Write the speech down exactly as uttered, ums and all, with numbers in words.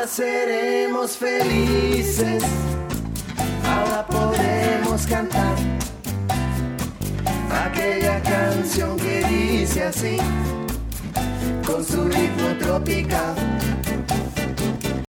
ahora seremos felices, ahora podemos cantar aquella canción que dice así, con su ritmo tropical.